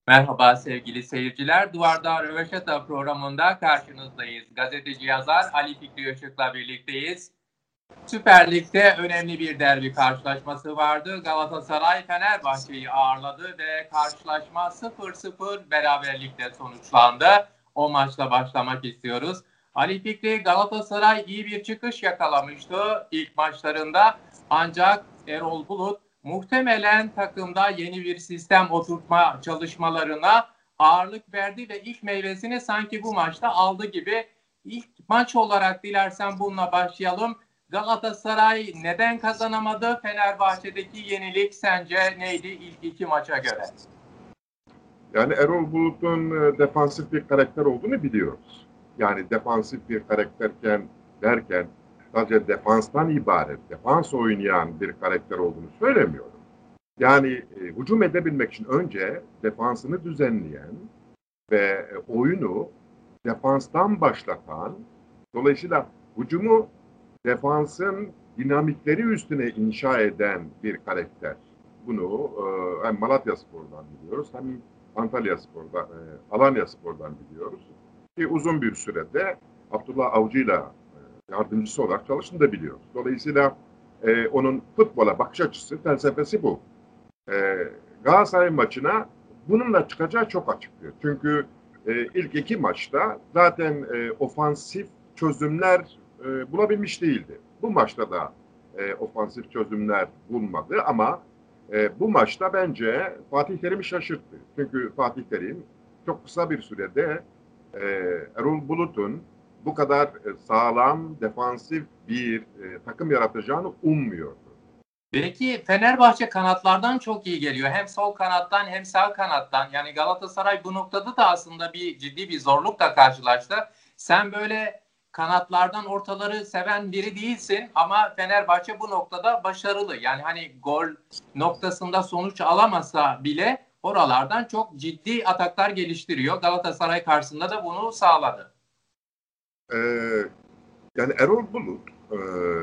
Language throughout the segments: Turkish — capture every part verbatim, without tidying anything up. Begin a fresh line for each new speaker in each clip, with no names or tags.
Merhaba sevgili seyirciler. Duvarda Röveşata programında karşınızdayız. Gazeteci yazar Ali Fikri Işık'la birlikteyiz. Süper Lig'de önemli bir derbi karşılaşması vardı. Galatasaray Fenerbahçe'yi ağırladı ve karşılaşma sıfır sıfır beraberlikle sonuçlandı. O maçla başlamak istiyoruz. Ali Fikri, Galatasaray iyi bir çıkış yakalamıştı ilk maçlarında. Ancak Erol Bulut muhtemelen takımda yeni bir sistem oturtma çalışmalarına ağırlık verdi ve ilk meyvesini sanki bu maçta aldı gibi. İlk maç olarak dilersen bununla başlayalım. Galatasaray neden kazanamadı? Fenerbahçe'deki yenilik sence neydi ilk iki maça göre?
Yani Erol Bulut'un defansif bir karakter olduğunu biliyoruz. Yani defansif bir karakterken derken sadece defanstan ibaret, defans oynayan bir karakter olduğunu söylemiyorum. Yani e, hücum edebilmek için önce defansını düzenleyen ve e, oyunu defanstan başlatan, dolayısıyla hücumu defansın dinamikleri üstüne inşa eden bir karakter. Bunu e, hem Malatyaspor'dan biliyoruz hem Antalyaspor'dan, e, Alanyaspor'dan biliyoruz. Ki uzun bir sürede Abdullah Avcı'yla e, yardımcısı olarak çalıştığını da biliyoruz. Dolayısıyla e, onun futbola bakış açısı, felsefesi bu. E, Galatasaray maçına bununla çıkacağı çok açıktır. Çünkü e, ilk iki maçta zaten e, ofansif çözümler e, bulabilmiş değildi. Bu maçta da e, ofansif çözümler bulmadı ama e, bu maçta bence Fatih Terim'i şaşırttı. Çünkü Fatih Terim çok kısa bir sürede e, Erol Bulut'un bu kadar e, sağlam, defansif bir e, takım yaratacağını ummuyordu.
Belki Fenerbahçe kanatlardan çok iyi geliyor. Hem sol kanattan hem sağ kanattan. Yani Galatasaray bu noktada da aslında bir ciddi bir zorlukla karşılaştı. Sen böyle kanatlardan ortaları seven biri değilsin ama Fenerbahçe bu noktada başarılı. Yani hani gol noktasında sonuç alamasa bile oralardan çok ciddi ataklar geliştiriyor. Galatasaray karşısında da bunu sağladı.
Ee, yani Erol Bulut e,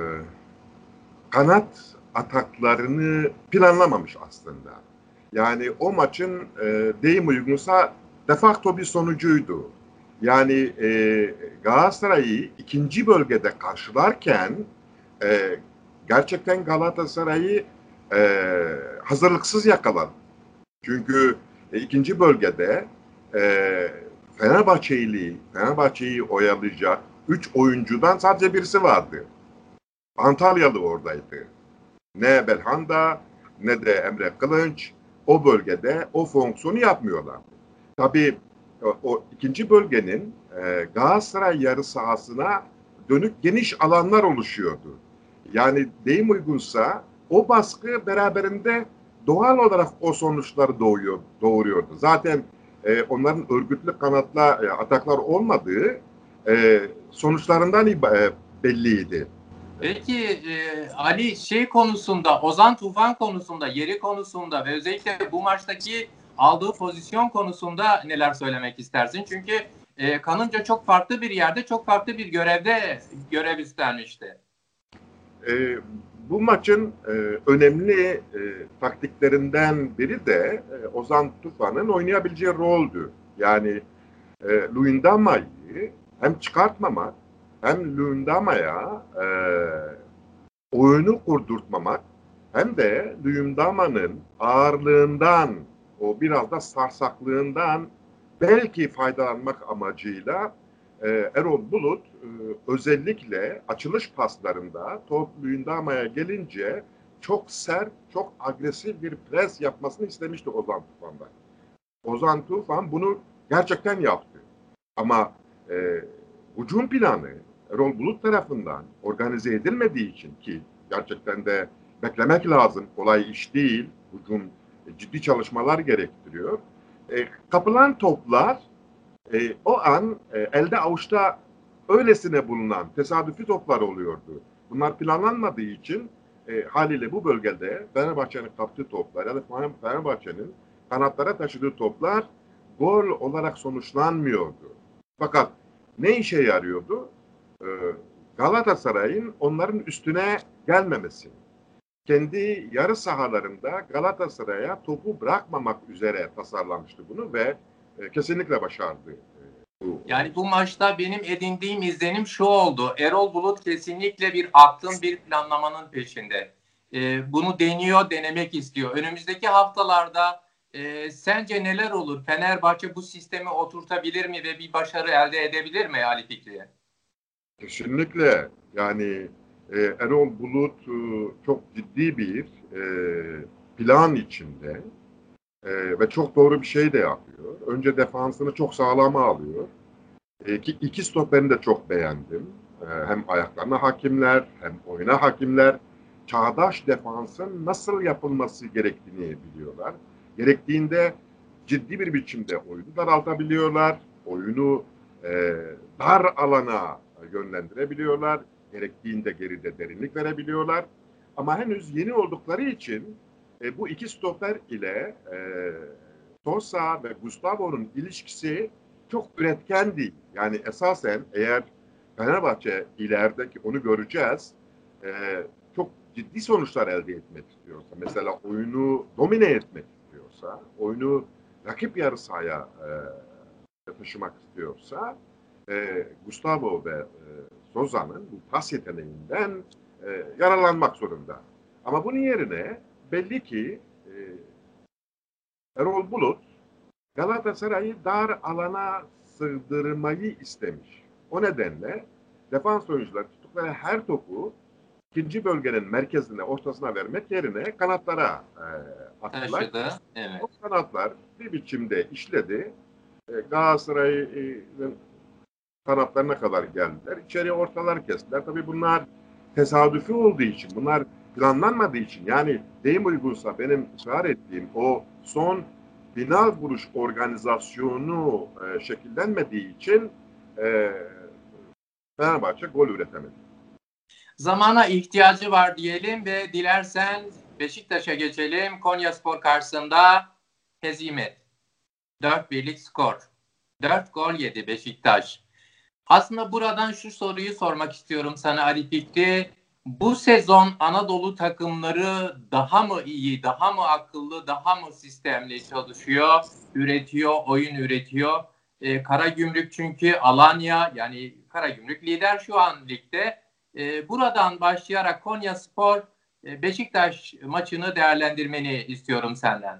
kanat ataklarını planlamamış aslında. Yani o maçın e, deyim uygunsa de facto bir sonucuydu. Yani e, Galatasaray'ı ikinci bölgede karşılarken e, gerçekten Galatasaray'ı e, hazırlıksız yakaladı. Çünkü e, ikinci bölgede e, Fenerbahçe'yi Fenerbahçe'yi oyalayacak üç oyuncudan sadece birisi vardı. Antalyalı oradaydı. Ne Belhanda ne de Emre Kılınç o bölgede o fonksiyonu yapmıyorlar. Tabii o, o ikinci bölgenin e, Galatasaray yarı sahasına dönük geniş alanlar oluşuyordu. Yani deyim uygunsa o baskı beraberinde doğal olarak o sonuçları doğuyor, doğuruyordu. Zaten e, onların örgütlü kanatla e, ataklar olmadığı e, sonuçlarından e, belliydi.
Peki e, Ali şey konusunda, Ozan Tufan konusunda, yeri konusunda ve özellikle bu maçtaki aldığı pozisyon konusunda neler söylemek istersin? Çünkü e, kanınca çok farklı bir yerde, çok farklı bir görevde görev üstlenmişti.
E, bu maçın e, önemli e, taktiklerinden biri de e, Ozan Tufan'ın oynayabileceği roldü. Yani e, Luyendama'yı hem çıkartmamak hem Luyendama'ya e, oyunu kurdurtmamak hem de Luyendama'nın ağırlığından, o biraz da sarsaklığından belki faydalanmak amacıyla e, Erol Bulut e, özellikle açılış paslarında top Luyendama'ya gelince çok sert, çok agresif bir pres yapmasını istemişti Ozan Tufan'dan. Ozan Tufan bunu gerçekten yaptı. Ama e, hücum planı Erol Bulut tarafından organize edilmediği için ki gerçekten de beklemek lazım. Kolay iş değil. Hücum e, ciddi çalışmalar gerektiriyor. E, kapılan toplar e, o an e, elde avuçta öylesine bulunan tesadüfi toplar oluyordu. Bunlar planlanmadığı için e, haliyle bu bölgede Fenerbahçe'nin kaptığı toplar ya da Fenerbahçe'nin kanatlara taşıdığı toplar gol olarak sonuçlanmıyordu. Fakat ne işe yarıyordu? Ee, Galatasaray'ın onların üstüne gelmemesi. kendi yarı sahalarında Galatasaray'a topu bırakmamak üzere tasarlamıştı bunu ve e, kesinlikle başardı. Bu
yani bu maçta benim edindiğim izlenim şu oldu. Erol Bulut kesinlikle bir aklın, bir planlamanın peşinde. Ee, bunu deniyor, denemek istiyor. Önümüzdeki haftalarda e, sence neler olur? Fenerbahçe bu sistemi oturtabilir mi ve bir başarı elde edebilir mi Ali Fikri'ye?
Kesinlikle yani e, Erol Bulut e, çok ciddi bir e, plan içinde e, ve çok doğru bir şey de yapıyor. Önce defansını çok sağlama alıyor. E, iki, iki stoperini de çok beğendim. E, hem ayaklarına hakimler hem oyuna hakimler. Çağdaş defansın nasıl yapılması gerektiğini biliyorlar. Gerektiğinde ciddi bir biçimde oyunu daraltabiliyorlar. Oyunu e, dar alana yönlendirebiliyorlar. Gerektiğinde geride derinlik verebiliyorlar. Ama henüz yeni oldukları için e, bu iki stoper ile e, Sosa ve Gustavo'nun ilişkisi çok üretken değil. Yani esasen eğer Fenerbahçe ilerideki onu göreceğiz, e, çok ciddi sonuçlar elde etmek istiyorsa, mesela oyunu domine etmek istiyorsa, oyunu rakip yarı sahaya e, taşımak istiyorsa, e, Gustavo ve e, Sosa'nın bu pas yeteneğinden e, yararlanmak zorunda. Ama bunun yerine belli ki e, Erol Bulut Galatasaray'ı dar alana sığdırmayı istemiş. O nedenle defans oyuncuları tuttukları her topu ikinci bölgenin merkezine, ortasına vermek yerine kanatlara e, attılar.
Taşıdı, evet.
O kanatlar bir biçimde işledi. E, Galatasaray'ın kanatlarına kadar geldiler. İçeriye ortalar kestiler. Tabii bunlar tesadüfi olduğu için, bunlar planlanmadığı için, yani deyim uygunsa benim ısrar ettiğim o son final vuruş organizasyonu e, şekillenmediği için e, Fenerbahçe gol üretemedi.
Zamana ihtiyacı var diyelim ve dilersen Beşiktaş'a geçelim. Konyaspor karşısında hezimet. dört birlik skor. dört gol yedi Beşiktaş. Aslında buradan şu soruyu sormak istiyorum sana Ali Fikri. Bu sezon Anadolu takımları daha mı iyi, daha mı akıllı, daha mı sistemli çalışıyor, üretiyor, oyun üretiyor? Ee, Karagümrük çünkü Alanya, yani Karagümrük lider şu an ligde. Ee, buradan başlayarak Konyaspor e, Beşiktaş maçını değerlendirmeni istiyorum senden.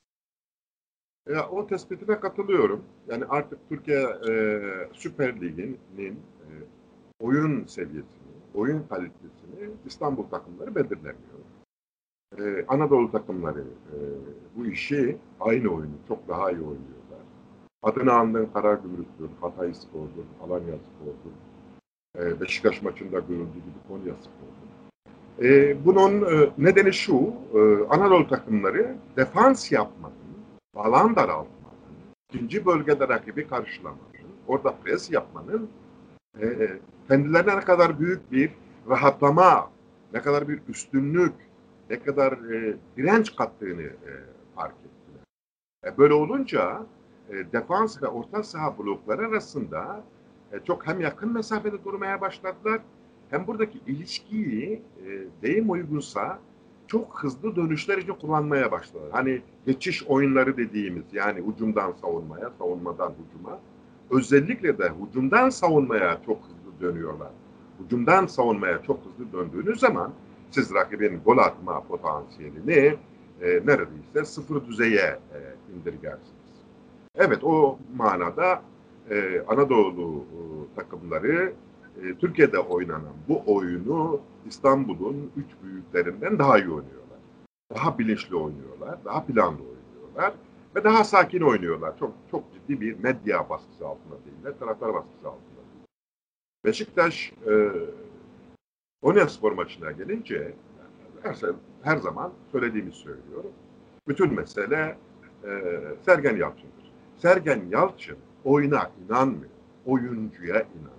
Ya, o tespitine katılıyorum. Yani artık Türkiye e, Süper Ligi'nin e, oyun seviyesini, oyun kalitesini İstanbul takımları belirlemiyor. Ee, Anadolu takımları e, bu işi, aynı oyunu çok daha iyi oynuyorlar. Adını andığın Karagümrük'tür, Hatay Spor'dur, Alanya Spor'dur. E, Beşiktaş maçında görüldüğü gibi Konya Spor'dur. E, bunun e, nedeni şu, e, Anadolu takımları defans yapmanın, alan daraltmanın, ikinci bölgede rakibi karşılamanın, orada pres yapmanın e, kendilerine ne kadar büyük bir rahatlama, ne kadar bir üstünlük, ne kadar e, direnç kattığını e, fark ettiler. E, böyle olunca e, defans ve orta saha blokları arasında e, çok hem yakın mesafede durmaya başladılar, hem buradaki ilişkiyi e, deyim uygunsa çok hızlı dönüşler için kullanmaya başladılar. Hani geçiş oyunları dediğimiz, yani hücumdan savunmaya, savunmadan hücuma, özellikle de hücumdan savunmaya çok hızlı dönüyorlar. Hücumdan savunmaya çok hızlı döndüğünüz zaman siz rakibin gol atma potansiyelini e, neredeyse sıfır düzeye e, indirgersiniz. Evet, o manada e, Anadolu e, takımları e, Türkiye'de oynanan bu oyunu İstanbul'un üç büyüklerinden daha iyi oynuyorlar. Daha bilinçli oynuyorlar, daha planlı oynuyorlar ve daha sakin oynuyorlar. Çok çok ciddi bir medya baskısı altında değiller, taraftar baskısı altında değiller. Beşiktaş e, Konyaspor maçına gelince her, her zaman söylediğimi söylüyorum. Bütün mesele e, Sergen Yalçın'dır. Sergen Yalçın oyuna inanmıyor, oyuncuya inanıyor.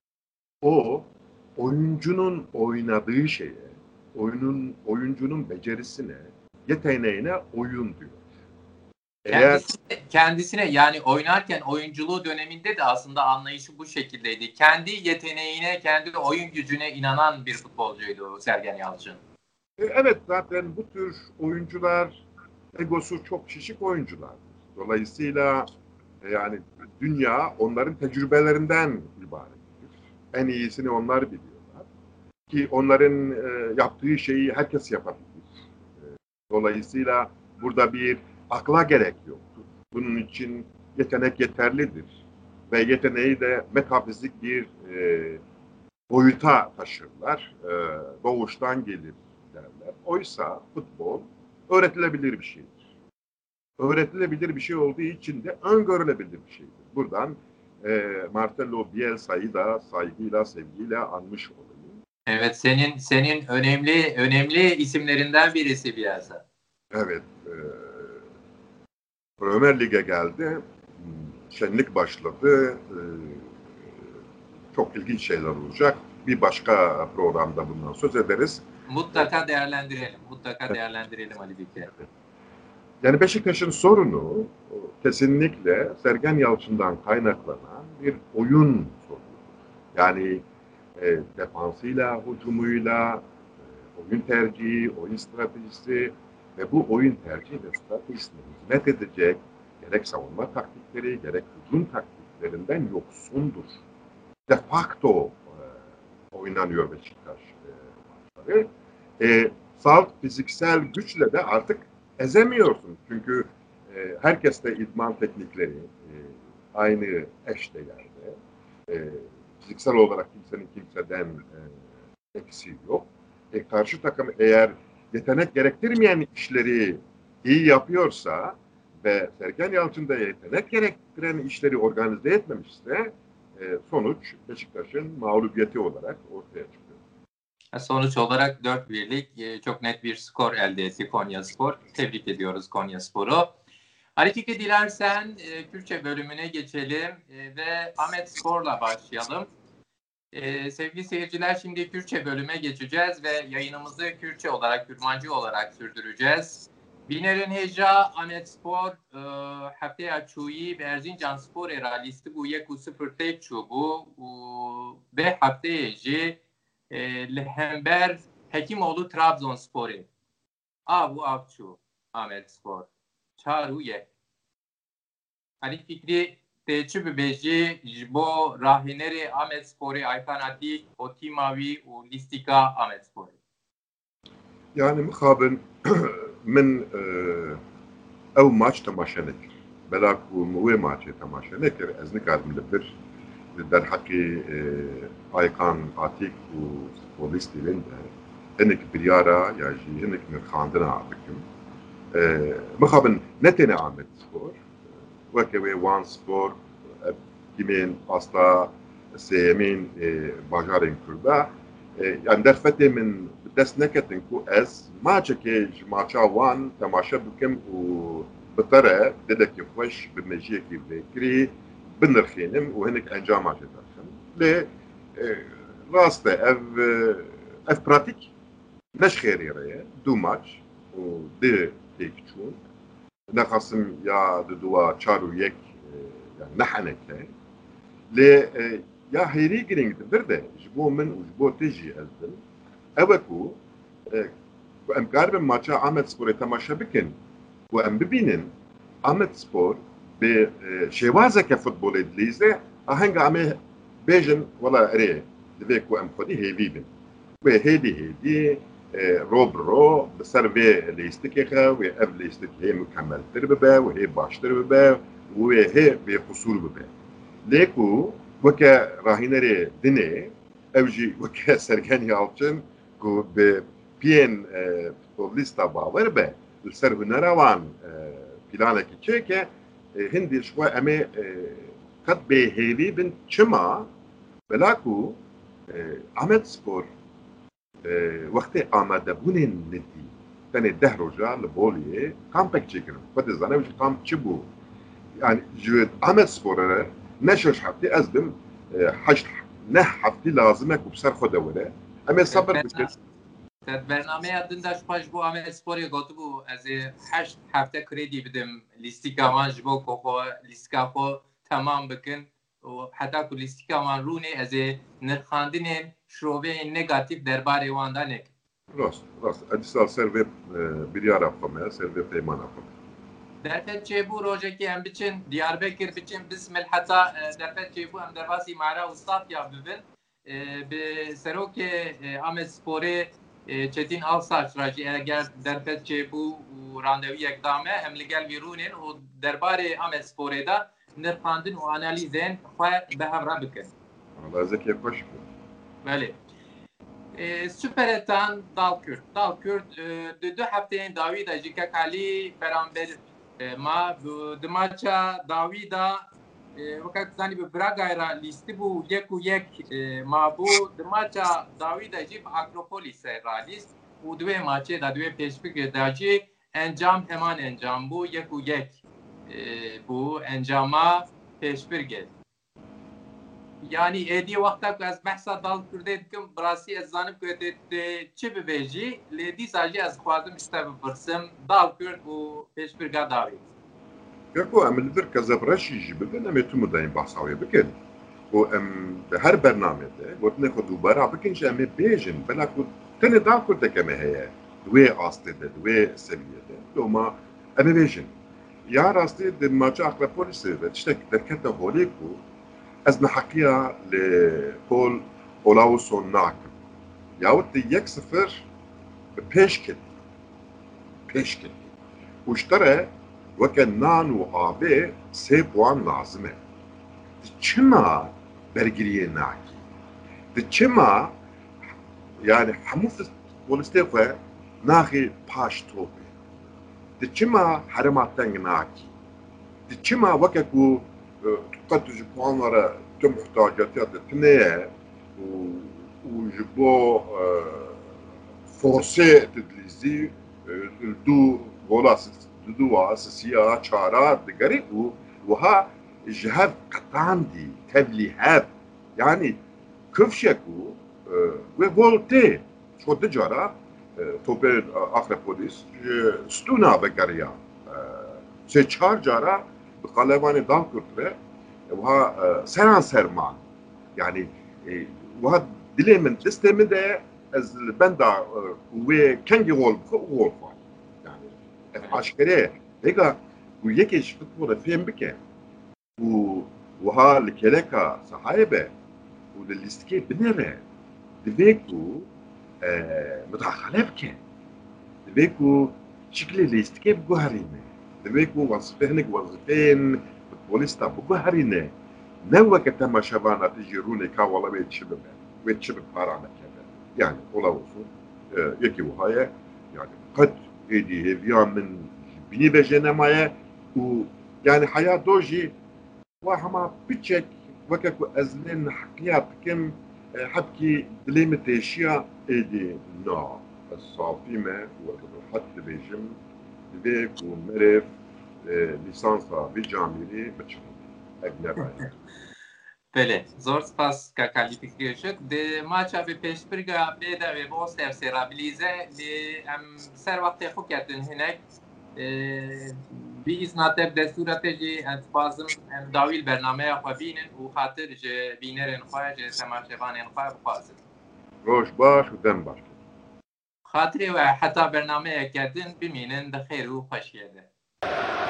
O oyuncunun oynadığı şeye, oyunun oyuncunun becerisine, yeteneğine oyun diyor.
Eğer kendisine, kendisine yani oynarken oyunculuğu döneminde de aslında anlayışı bu şekildeydi. Kendi yeteneğine, kendi oyun gücüne inanan bir futbolcuydu Sergen Yalçın.
E, evet, zaten bu tür oyuncular egosu çok şişik oyunculardır. Dolayısıyla e, yani dünya onların tecrübelerinden ibarettir. En iyisini onlar biliyorlar. Ki onların e, yaptığı şeyi herkes yapabilir. E, dolayısıyla burada bir akla gerek yoktur. Bunun için yetenek yeterlidir. Ve yeteneği de metafizik bir e, boyuta taşırlar. E, doğuştan gelir derler. Oysa futbol öğretilebilir bir şeydir. Öğretilebilir bir şey olduğu için de öngörülebilir bir şeydir. Buradan e, Marcelo Bielsa'yı da saygıyla, sevgiyle anmış olayım.
Evet, senin senin önemli önemli isimlerinden birisi Bielsa.
Evet. E, Premier Lig'e geldi. Şenlik başladı. E, çok ilginç şeyler olacak. Bir başka programda bundan söz ederiz.
Mutlaka değerlendirelim. Mutlaka değerlendirelim Ali Fikri.
Yani Beşiktaş'ın sorunu kesinlikle Sergen Yalçın'dan kaynaklanan bir oyun sorunu. Yani e, defansıyla, hücumuyla, e, oyun tercihi, oyun stratejisi ve bu oyun tercihi ve stratejisine hizmet edecek gerek savunma taktikleri, gerek hücum taktiklerinden yoksundur. De facto e, oynanıyor Beşiktaş e, maçları. E, salt fiziksel güçle de artık ezemiyorsun. Çünkü e, herkeste idman teknikleri e, aynı eşdeğerde. E, fiziksel olarak kimsenin kimseden e, eksiği yok. E, karşı takım eğer yetenek gerektirmeyen işleri iyi yapıyorsa ve Sergen Yalçın da yetenek gerektiren işleri organize etmemişse e, sonuç Beşiktaş'ın mağlubiyeti olarak ortaya çıkıyor.
Sonuç olarak dört birlik çok net bir skor elde etti Konyaspor. Tebrik ediyoruz Konyaspor'u. Ali Fikri, dilersen e, Kürtçe bölümüne geçelim e, ve Ahmetspor'la başlayalım. E, sevgili seyirciler, şimdi Kürtçe bölüme geçeceğiz ve yayınımızı Kürtçe olarak, Kürmancı olarak sürdüreceğiz. Binerin Heja Ahmetspor haftaya çuyi ve Erzincanspor era listi bu yeku sıfır tek çubu ve haftaya ji lehember Hekimoğlu Trabzonspor'u. A bu avçu Ahmetspor. Çaru ye. Ali Fikri Teçi Bibeji Jbo Rahineri Ahmetspor'u Aykanati Otimavi u Listika Ahmetspor'u.
Yani mukabın min ev maç temaşa nekir. Bela ku mu maçı temaşa nekir. Ez nikadim libir در حقی آیکان آتیک و futbolisti linde hinek biryara ya jî hinek nirxandina bikim. Mixabin netene Ahmet Spor weke wê wan spor timên asta sêyemên bajarên Kurda yani derfetê min bi dest neketin ku ez maçekê ji maça wan temaşa bikim û bi te re dilekî xweş bi mejiyekî vêkirî binirxînim û hinek encama jê daxin. Lê rast e ev ev pratik neş xêrî re ye du maç û di têk çûn. Nexasim ya di duwa çar û yek yani neheneke. Lê ya hêrî giring dibir de ji bo min û ji bo te jî ez din. Ew e ku em karibin maça Ahmetsporê temaşa bikin û em bibînin Ahmetspor bi şêwazeke futbolê dilîze ahenga em ê bêjin wela erê divê ku em xwedî hêvî bin. Wê hêdî hêdî ro bi ro bi ser vê lîstikê xe wê ev lîstik hê mukemmeltir bibe û hê baştir bibe û wê hê bê qusûr bibe. Lê ku weke rahînerê dinê ew jî weke Sergen Yalçın ku bi piyên futbolîsta bawer be li ser hunera wan planekî çêke hindî ji xwe em ê qet bêhêvî bin çima bela ku Ahmetspor wextê amadebûnên nedî tenê deh roja li Boliyê kampek çêkirin. Xwe dizane ji kamp çi bû? Yani ji Ahmetspor re ne şeş heftê ez dim heşt neh heftê lazim e ku bi ser xwe de were. Em ê sabir bikin.
برنامه دندش پاش بو Ahmetspor'u گوتو بو از هشت هفته کردی بدم لیستیکا من جبو کوخو لیستیکا خو tamam بکن و حتی کو لیستیکا من رونه از نرخاندن شروع negatif درباره واندا نک.
راست راست ادیسال سر وب بریارا خمه سر وب پیمانا خمه
درفت چیبو روزه که هم بچن دیاربکر بچن بسم الحتا درفت چیبو هم درباسی معرا استاد یا ببین به سروک ام سپوره چتین آلساچ راجی اگر درفت چیبو و راندوی اقدامه هم لگل ویرونین و درباره ام سپوره دا نرخاندن و آنالیزین خواه به هم را بکن.
والله زکی خوش بود.
بله. سوپرتان دالکرد دالکرد دو هفته داوی دا جیکا کالی برانبر ما دماچا داوی دا وقت زنی به براگایرا لیستی بو یک و یک ما بو دماچا داوی دا جیب اکروپولیس را لیست و دوی ماچه دا دوی پیشبک دا جی انجام همان انجام بو یک و یک بو انجاما پیشبرگه yani edi vakta ku ez behsa dal kurde dikim birasî ez zanim ku te çi bibêjî lê dîsa jî ez xwazim ji te bipirsim dal kurd û pêşbirga dawî.
Kako em li vir kezebreşî jî bibin em ê tu mudayên bahsa wê bikin. û em bi her bernamede gotinê xwe dûbera bikin ji em ê bêjin bela ku tenê dal kurdeke me heye wê astê de wê seviyede doma em ê bêjin. Ya rastî di maça Akropolisê ve tiştek derkete holê ku ez neheqiya li Pol Olausson nakim. Yahut di yek sıfır pêş ket. Pêş ket. û ji te re weke nan û avê sê puan lazim e. Di çima bergiriyê nakî? Di çima yani hemû polîstê xwe naxê paş topê? Di çima herêma teng nakî? Di çima weke ku قد ji puanlara tüm muhtaciyata te tune û û ji bo forsê tedlîzî du gola duwa sisiya çara digerî û wiha ji hev qetandî tevlî hev yani kifşek û wê gol tê ço di cara topê Akropolis ji stûna vegeriya sê çar cara bi qelevanê dal kurtire وها سران سرمان يعني وها دلي من تستمد از البندا وكانجي غول غول يعني عشكري هيك ويكش فوتبول فين بك وها الكلكا صحايبه وللستكي بنره دبيكو متعخله بك دبيكو شكل الاستكي بجوهرينه دبيكو وظيفهنك وظيفين Polista bu herine ne vakit temaşavana tecrüne kavala ve çibe ve çibe paramekede yani ola olsun yeki vahaya yani kat edi heviyamin bini bejenemaya u yani hayat doji ve hama biçek vakit ku ezlen hakiyat kim habki dilemet eşya edi na الصافيمه وحتى بيجم بيك ومرف لیسانسا bir camiri biçim egnebe.
Bele, zor spas ka kalifikasyon de maça bir peşbirga beda ve boster serabilize de em ser vakti xuketin hinek bir iznateb desturatê jî ez dixwazim em dawî bernameye xwe bînin û xatir ji bînerên xwe ji temaşevanên xwe bixwazin.
Roj baş û dem baş.
Xatirê we heta bernameyeke din bimînin di xêr û xweşiyê de.